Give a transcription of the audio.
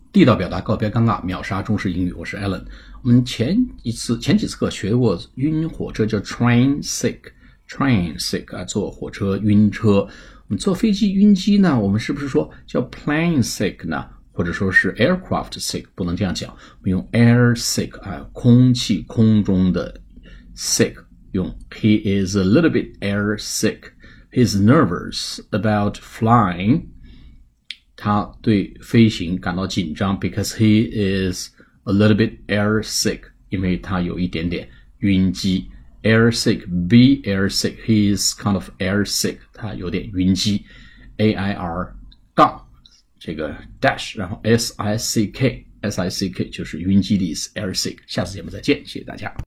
地道表达，告别尴尬，秒杀中式英语。我是 Alan。我们前几次课学过晕火车叫 train sick 啊，坐火车晕车。我们坐飞机晕机呢，我们是不是说叫 plane sick 呢？或者说是 aircraft sick？ 不能这样讲，我们用 air sick 啊，空中的 sick， 用 he is a little bit air sick。He's nervous about flying. 他对飞行感到紧张 because he is a little bit air sick. 因为他有一点点晕机。Air sick, be air sick. He is kind of air sick. 他有点晕机。AIR 杠这个 dash 然后 SICK 就是晕机的意思 air sick。下次节目再见，谢谢大家。